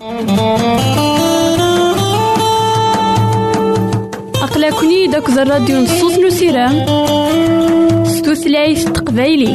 أقلكني داك الراديو نصوص نسيرام ستوثلايف تقبايلي.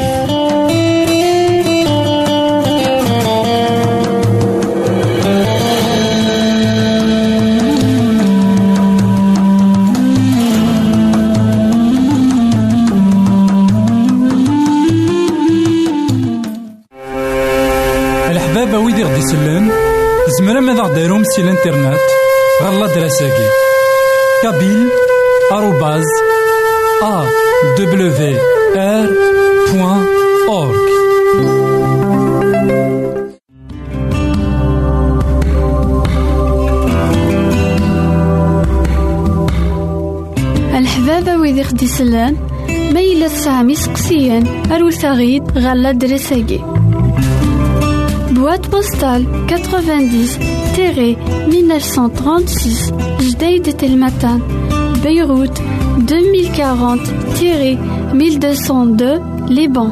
الحبابة ويدي غدي يسلن زمرا ماذا غديرهم سي الانترنت غالا دراساكي kabyle@awr.org. الحبابة ويدي غدي يسلن ما إلا تسعة سقسيان أروثاغيد غالا دراساكي boîte postale 90-1936 Jdeï Telmatan Beyrouth 2040-1202 Liban.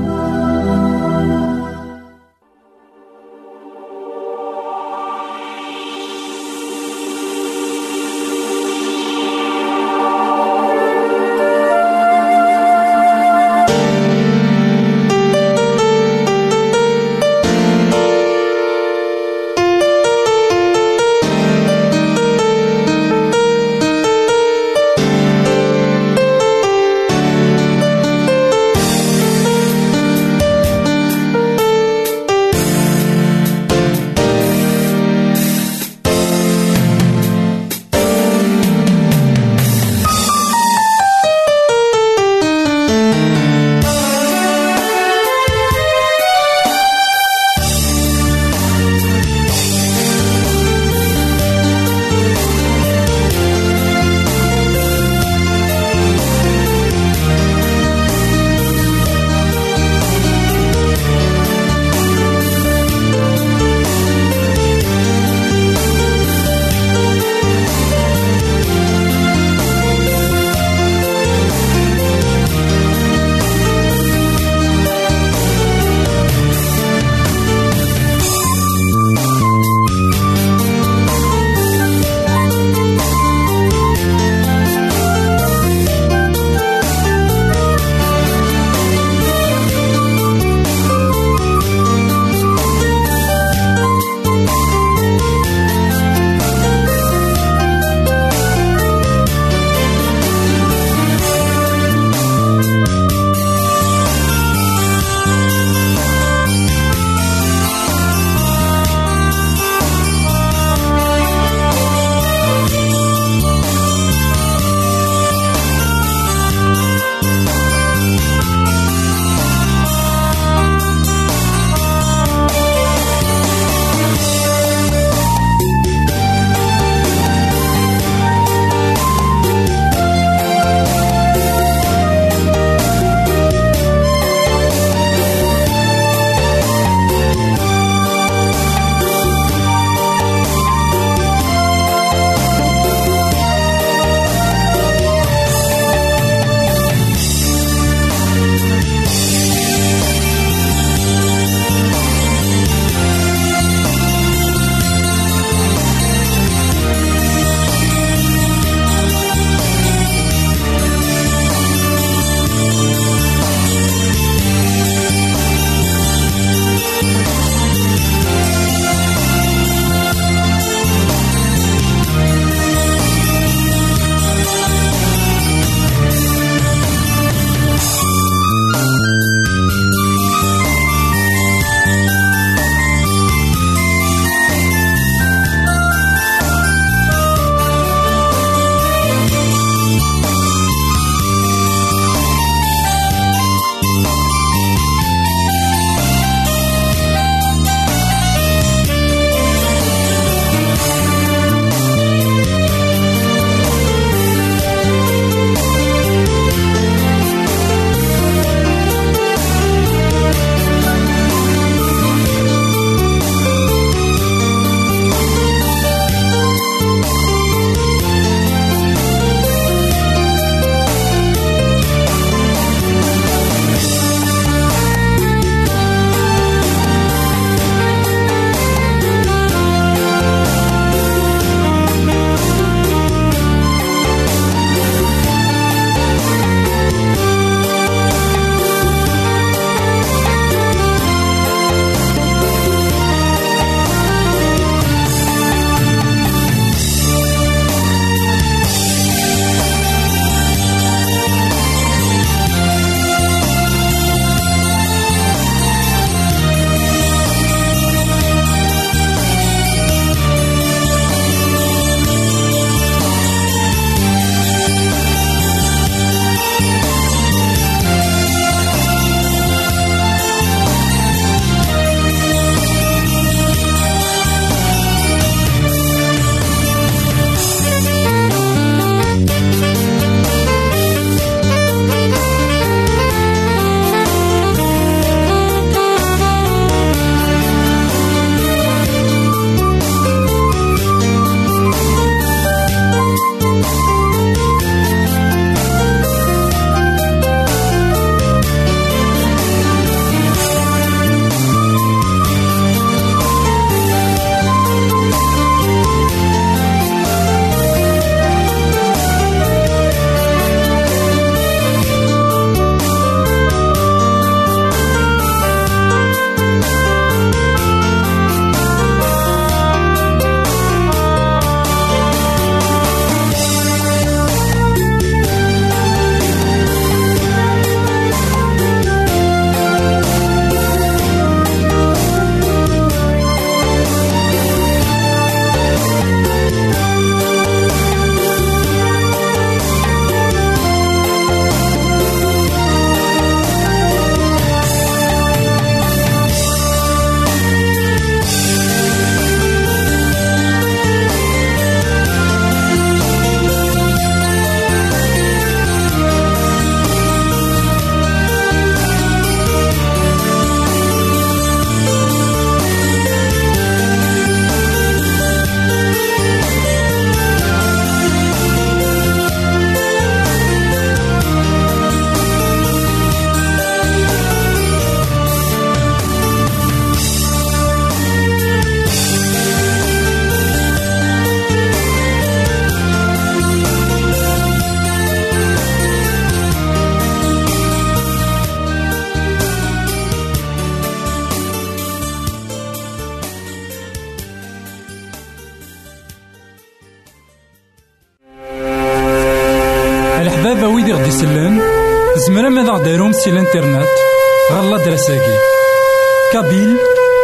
الحبابة ويدي غدي يسلن زمرا ماذا غديرهم سي الانترنت غالا دراساكي كابيل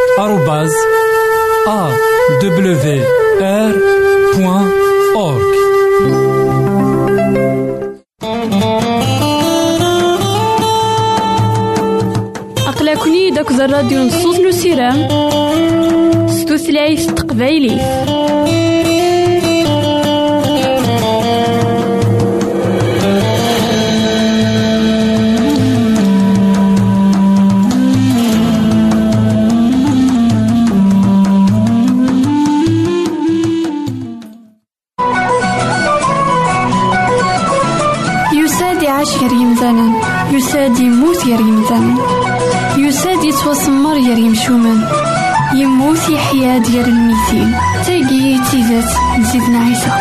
@awr.org. أقلكني داك الراديو نصوص نسيرام ستوثلايف تقبايلي. يساد يموت يا ريمزان، يساد يتوسمر يا ريمشومان، يموت يحيا ديال الميتين. تاقي تيزات نزيدنا عيسى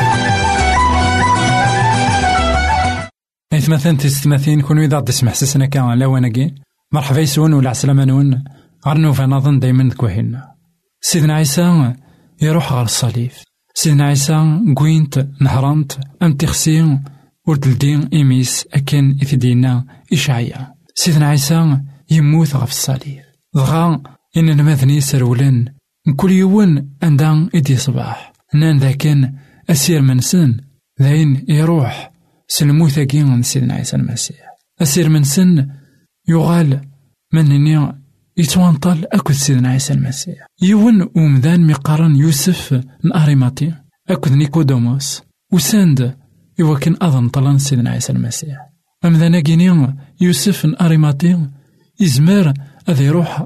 مثلا تستمثين كونوا إذا تسمح سسنا كان لاواناكي مرحبا يسون ولا عسلامة نون غرنو فنظن دايما كوهينا. سيدنا عيسى يروح غير الصليب، سيدنا عيسى قوينت نهرانت أم تخسين وردلدين إيميس أكن إثدينا إشعيا. سيدنا عيسى يموت غف الصليب ضغا إن المذني سرولن كل يوم عندان إدي صباح نان ذاكن أسير منسن ذاين يروح سلموثا كين سيدنا عيسى المسيح. أسير منسن يغال منني يتوانطل أكد سيدنا عيسى المسيح. يون ومذان مقارن يوسف الأريماطي أكد نيكودوموس وساند يوكن أظن طلان سيدنا عيسى المسيح. أمذانا كيني يوسف الأريماطي يزمر أذ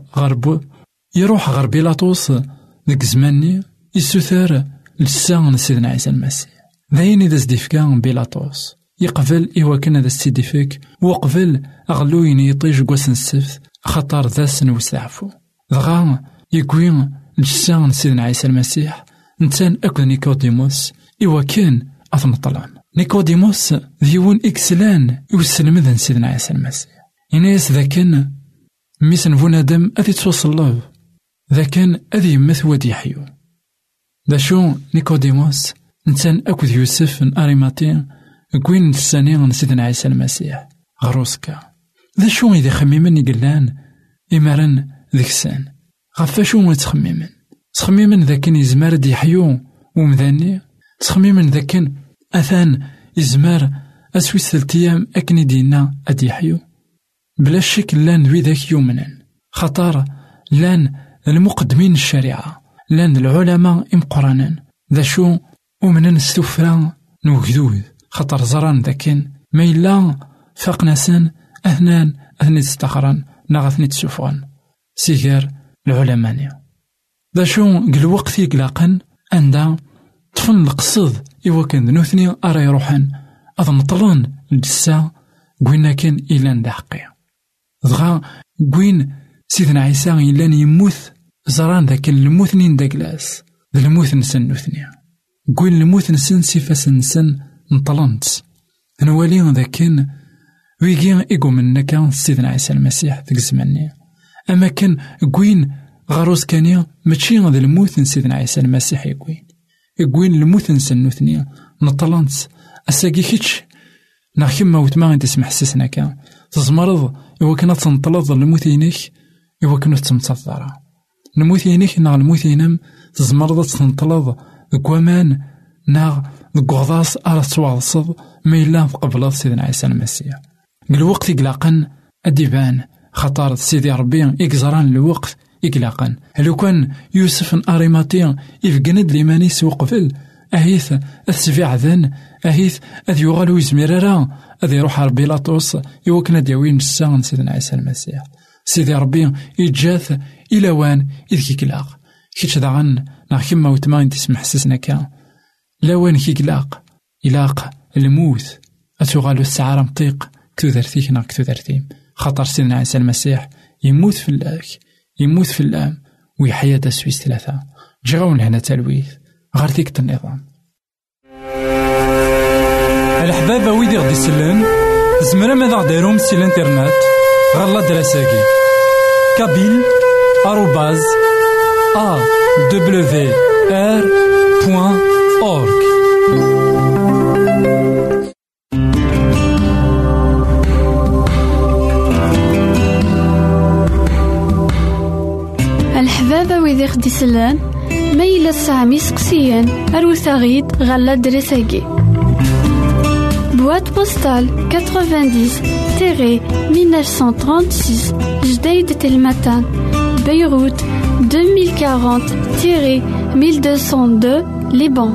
يروح غرب بيلاطوس ذاك زماني يسوثر لسان سيدنا عيسى المسيح. ذاين إذا زديفكا بيلاطوس يقبل إيواكن هذا السيديفيك وقبل أغلوين يطيج قوس السفت خطر ذا سنوس عفو ضغا يقوين لسان سيدنا عيسى المسيح. نتان أكد نيكوديموس إيواكن أثم طلان نيكوديموس ذيون إكسلان يوسلم ذن سيدنا عيسى المسيح. إناس ذاكن ميسن فونادم أذي توصل ذاكن أذي مثوى يحيو ذا شو نيكوديموس نتان أكد يوسف أريماطي قوين السانين سيدنا عيسى المسيح غروسكا. ذا شو إذا خميمن يقلان إمارن ذكسان غفاشو تخميمن ذاكن يزمار دي حيو ومذاني تخميمن ذاكن أثان يزمار أسويس ثلتيام أكني دينا أدي حيو بلا شك لان ذوي ذاك يومنا خطار لان المقدمين الشريعة لان العلماء إمقرانا ذا شو ومن نستفران نوكذوذ خطر زران ذاكن ما إلا فاقناسان أثنان تستخران ناغثني تسوفغان سيغير العلمانية. ذا شو قل وقت يقلاقن عندها طفن القصد إوا كان ذنوثني أرى يروحن أظن طلان الجسا قوينا كان إلان دا حقيا ضغا قوين سيدنا عيسى إلان يموث زران ذاك الموثنين دا كلاس ذا الموث نسن نوثنيا قوين الموث نسن سيفاس نسن نطلانت نوالي ذا كان ويجي إيقو منا كان سيدنا عيسى المسيح ذاك الزماني. أما كان قوين غاروس كانيا ماشي ذا الموث سيدنا عيسى المسيح يقوين الموث نسن نوثنيا نطلانت أساقي كيتش ناخيما وتما انت تسمح سسنا كان تزمرض إوا كنا تنطلض الموثينيك إوا كنا تمتصدرا الموثينيك نا الموثينم تزمرض تنطلض كوامان نا غضاص أرى توالصد ما إلا قبل سيدنا عيسى المسيح. الوقت يقلقن أديبان خطار سيدي ربي إكزران الوقت يقلقن. لو كان يوسف الأريماطي يفقند ليمانيس وقفل أهيث السفيع ذن أهيث أذ يغالو يزميرارا أذ يروح على بيلاطوس يوكنا ديوين الساغن سيدنا عيسى المسيح. سيدي ربي يتجاث إلى وان إذ كيكلاق كيتش داغن ناخيما وتما تسمح سسنا كان لوان كيكلاق إلاق الموت أتغالو السعارة مطيق كتوذرتيك نا كتوذرتيم خطر سيدنا عيسى المسيح يموت في اللاك يموت في اللام ويحيا تسويس ثلاثة جغون هنا تلويث غير ذيك النظام. الحبابة ويدي غدي يسلن زمرا ماذا غديرهم سي الانترنت غالا دراساكي كابيل @awr.org. يسلان ما إلا سامي سقسيان أروثاغيد غالا دريساكي. Boîte postale 90-1936 Jdeïd Telmatan, Beyrouth 2040-1202 Liban.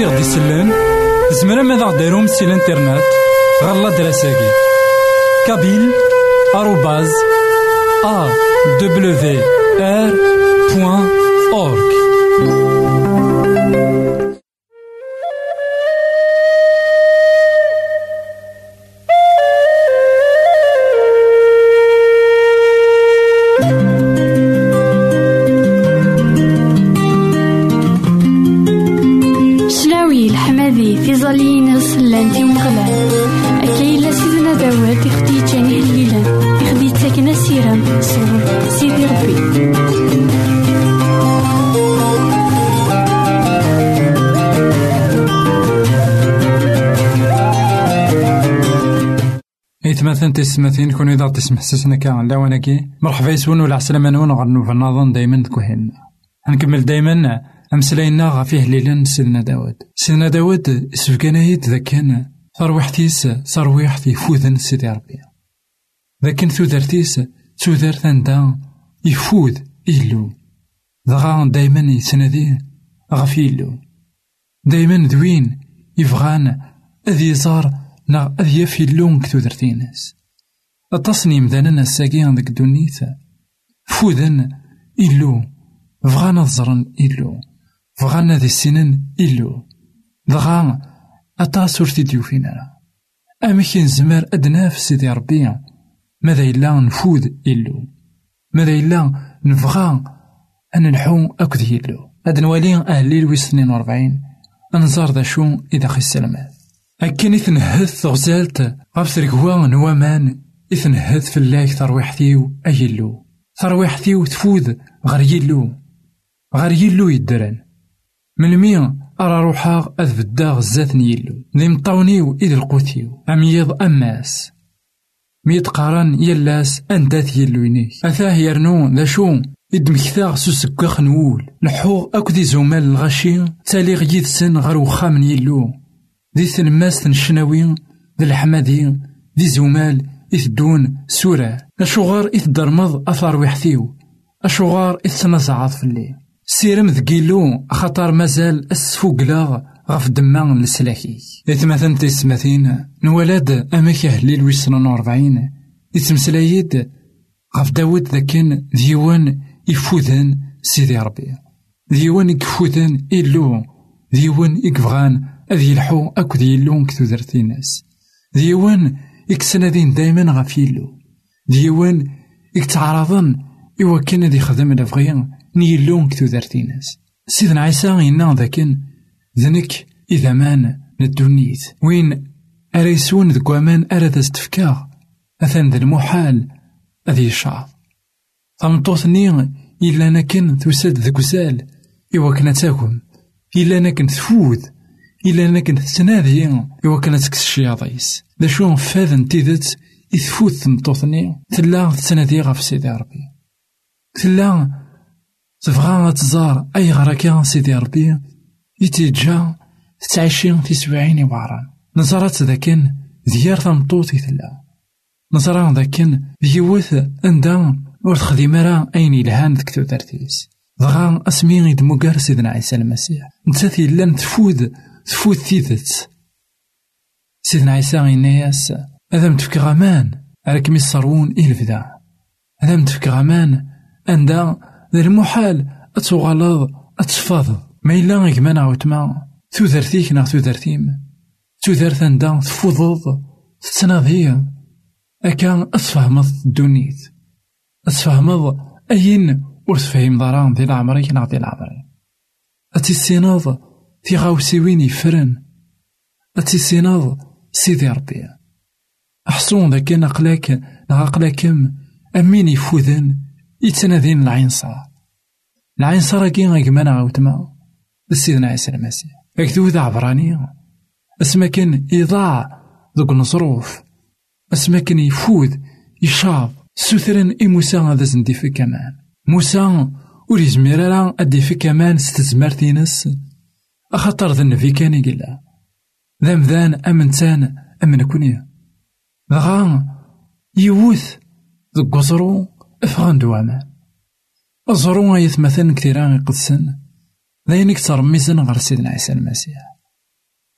غدي يسلن زمرا ماذا غديرهم سي الانترنت غالا دراساكي kabyle@awr.org. في ظلين صلانتي ومغلان أكايلا سيدنا داود يخدي جاني الليلان يخدي تاكنا سيران صبر سيدي ربي. مثلا تسمثين كون إذا تسمح سسنا كان لا وناكي مرحبا يسون ولا عسلامة نون غنو في النظام دايما كوهين نكمل دايما أمسلاينا غفيه ليلا سيدنا داود. سيدنا داود سفكانايد ذا كان ثروحتيس ثرويحتي فوذن سيدي ربي ذاكن ثودرتيس ثودر ثاندا يفوذ إلو ضغان دايما يسندي غفيلو دايما ذوين يفغان أذي زار نا أذي يفيلون كثودرتينس التصنيم ذاننا الساقين ذاك دونيثا فوذن إلو فغانا ظرن إلو فغانا ذي السنن إلو ضغان أتاسور تيديو فينا أمكن زمار أدنا في سيدي ربي ماذا إلا نفوذ إلو ماذا إلا نفغان أن نحو أكد إلو هاد نوالي أهلي لويس 42 أنزار ذا شو إذا خي السلامات أكن إثنهث غزالت غفت ركوا نوامان إثنهث في الله ثرويحتيو أيلو ثرويحتيو تفوذ غير يلو يدرن من مين أرى روحا أذبدا غزات نيلو ذي مطاونيو إذ القوتيو أميض أماس ميت قارن يلاس أندات يلو ينيك أثاه يرنو ذا شو إدمكثاغ سوسكاخ نول لحوغ أكدي زومال الغشي تالي غيد سن غير وخام يلو ذي ثلماس تنشناوين ذي الحمادين ذي زومال إثدون سورة أشوغار إثدرمض أثار ويحثيو أشوغار إثنزعاض في الليل سيرم ذكيلو خطر مازال السفوقلاغ غف دمان لسلاكي إثمثن تسمثين نولاد أماكه ليل ويسنون 40 إتمسلايد غف داود ذاكن ديوان يفوذن سيدي ربي ديوان يكفوذن إلو ديوان يكفغان أذي الحو أكو ديلون كتودرتي ناس ديوان يكسندين دايما غفيلو ديوان يكتعرضن إوا كان ذي خدم الأفغيان نيلون كتودرتي ناس سيدنا عيسى إنا ذاكن ذنك إذا مان ندونيت وين أريسون ذكوامان أراد استفكاغ أثن ذا المحال أذي الشعب ثمطوثني إلا نكن تسد ذكوزال إوا كنا تاكم إلا نكن تفوذ إلا نكن تنادي إوا كانت تكسشي عضيس ذا شو فاذن تيذت إثفوذ ثمطوثني تلا تنادي غف سيدي ربي تلا تبغى تزار أي غركة سيدي ربي يتيجا تتعيشين في 70 وعران نظرات ذاكن ديار ثمطوطي تلا نظران ذاكن ديوث أندان ورتخدي مرا أين إلهان ذكتو ترتيس ضغان أسمين يدمقار سيدنا عيسى المسيح نتاثي لن تفوذ تيذت سيدنا عيسى إنياس هذا متفك غامان راكم يصرون إلفدا هذا متفك غامان أندا ذا المحال أتغلظ أتفاض ما إلا غيكمان عوتما تودرتيك نا تودرتيم تودرت أندا تفوضض تتناضي أكان أتفهمض الدونيت أتفهمض أين ورتفهم ضران ذي العمري نا ذي العمري أتيسيناض في غاوسيوين يفرن أتيسيناض سيدي ربي أحصون ذاك نقلاك نغاقلاكم أمين يفوذن يتنادين العين صار كي غيكمان عاوتما سيدنا عيسى المسيح أكتو ذا عبراني اسما كان يضاع ذوك النصروف اسما كان يفوذ يشاب سوثرن موسى هذا زندي في كمان موسى وليز ميرالا أدي في كمان ستزمرتينس أخطر ذا النبي كان يقلا ذا مذان أمنتان أمن كونيا ذغان يوث ذوك قصرو أفغان دوامان أزرو يثمثن كثيران يقدسن ذاين كتر ميزن غير سيدنا عيسى المسيح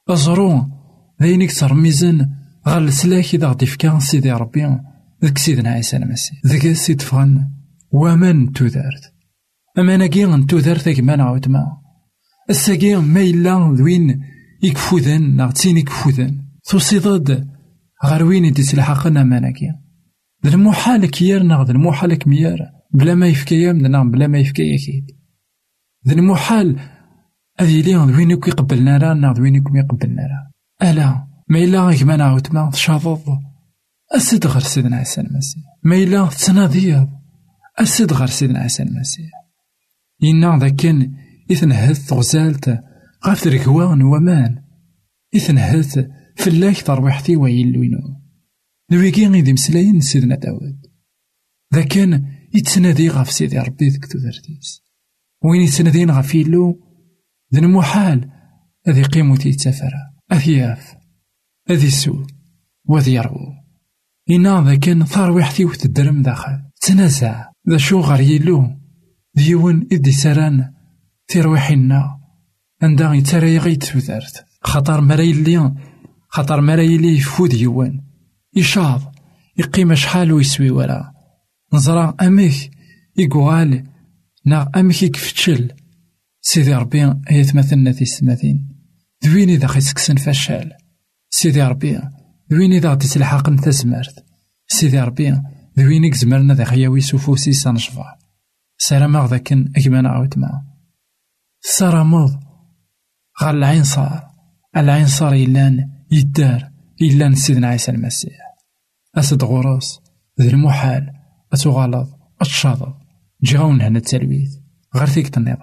أزرو ذينك ترميزن غال السلاك إذا غدي فكا سيدي ربي ذك سيدنا عيسى المسيح ذك سيد فغن ومن تودارت أما ناكي غنتودارت كما نعاود ما الساكي ما إلا ذوين يكفوذن ناغتين يكفوذن توصيداد غير وين يتسلحقنا ما ناكي ذا المحال كيار ناغ المحال كميار بلا ما يفكيا مدنا بلا ما يفكيا كيد ذا المحال هذي ليون وين يكون يقبلنا راه ناغ وين يكون يقبلنا راه ألا ما إلا غير كما نعاود ما تشاطض أسد غير سيدنا عيسى المسيح ما إلا تناضيض أسد غير سيدنا عيسى المسيح إنا ذاكن إثنهث غزالت غاف ركوان ومان إثنهث فلاك ترويحتي ويلوينو نويكي غيدي مسلاين سيدنا داود ذاكن يتسنادي غاف سيدي ربي ذك تودرتيس وين يتسنادين غاف يلو ذن محال أذي قيموتي يتسافر أثياف أذي سو وذي يرغو إنا ذاكن ترويحتي وتدرم داخل تنازع ذا شو غير يلو ديون إدي سران ترويحنا عندها يترى يغيت وذارت خطر مراي اللي يفود يوان يشاض يقيم شحال ويسوي ورا نزرع أميك يقوال نا أميك يكفتشل سيدي ربي يتمثلنا في السماثين دويني ذا خيسكسن فشال سيدي ربي دويني ذا تسلحق نتزمرت سيدي ربي دويني زمرنا ذا خياوي سوفوسي سنشفع سلام ذاكن أكما نعاود معه سرمض غال العين صار إلان يدار إلان سيدنا عيسى المسيح أسد غراس ذي المحال أتغالظ أتشاضض جاون هنا التلويث غير ثيك النظام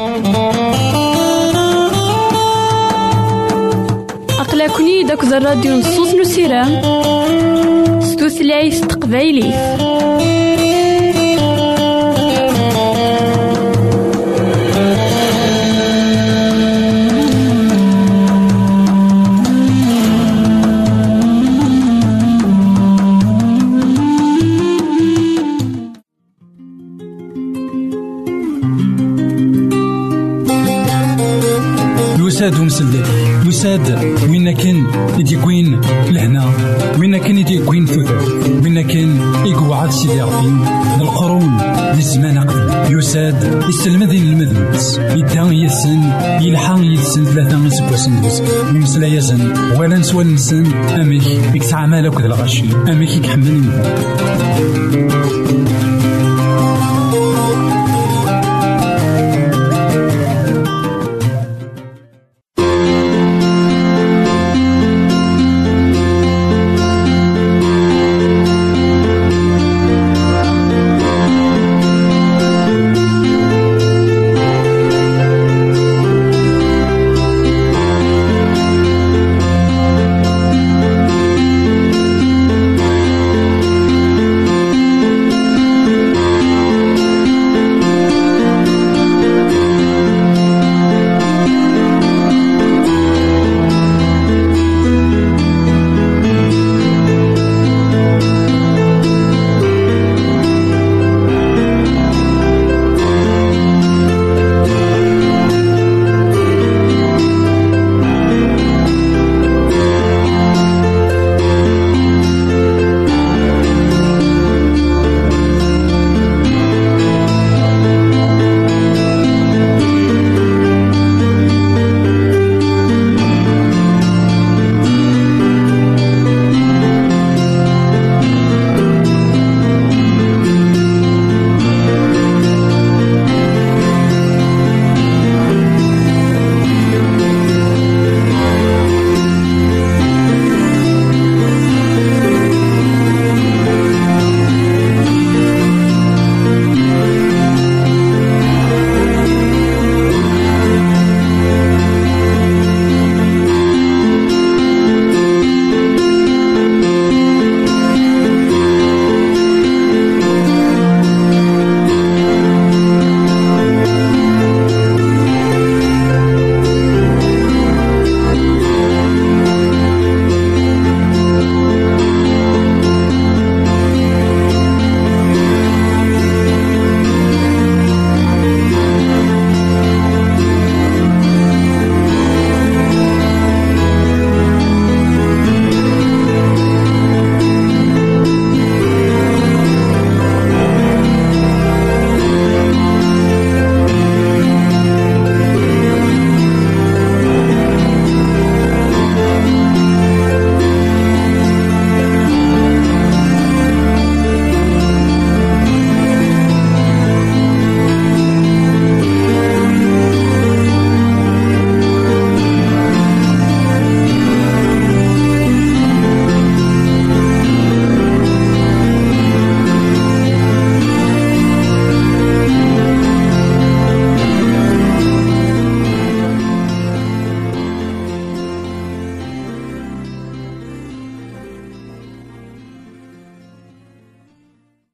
أقلكني داك الراديو نصوص نسيران ستوثلايف تقبايلي يساد ومسلك يساد وين كان يديكوين لهنا وين كان يديكوين ثوثر وين كان يقعد سيدي ربي القرون للزمان قبل يساد يستلمذين المذنبس يدان يسن يلحان يسن ثلاثة سبوسن يمسلا يزن ولا نسوى نسن أميك يكسع مالك ذا الغشي أميك يكحمل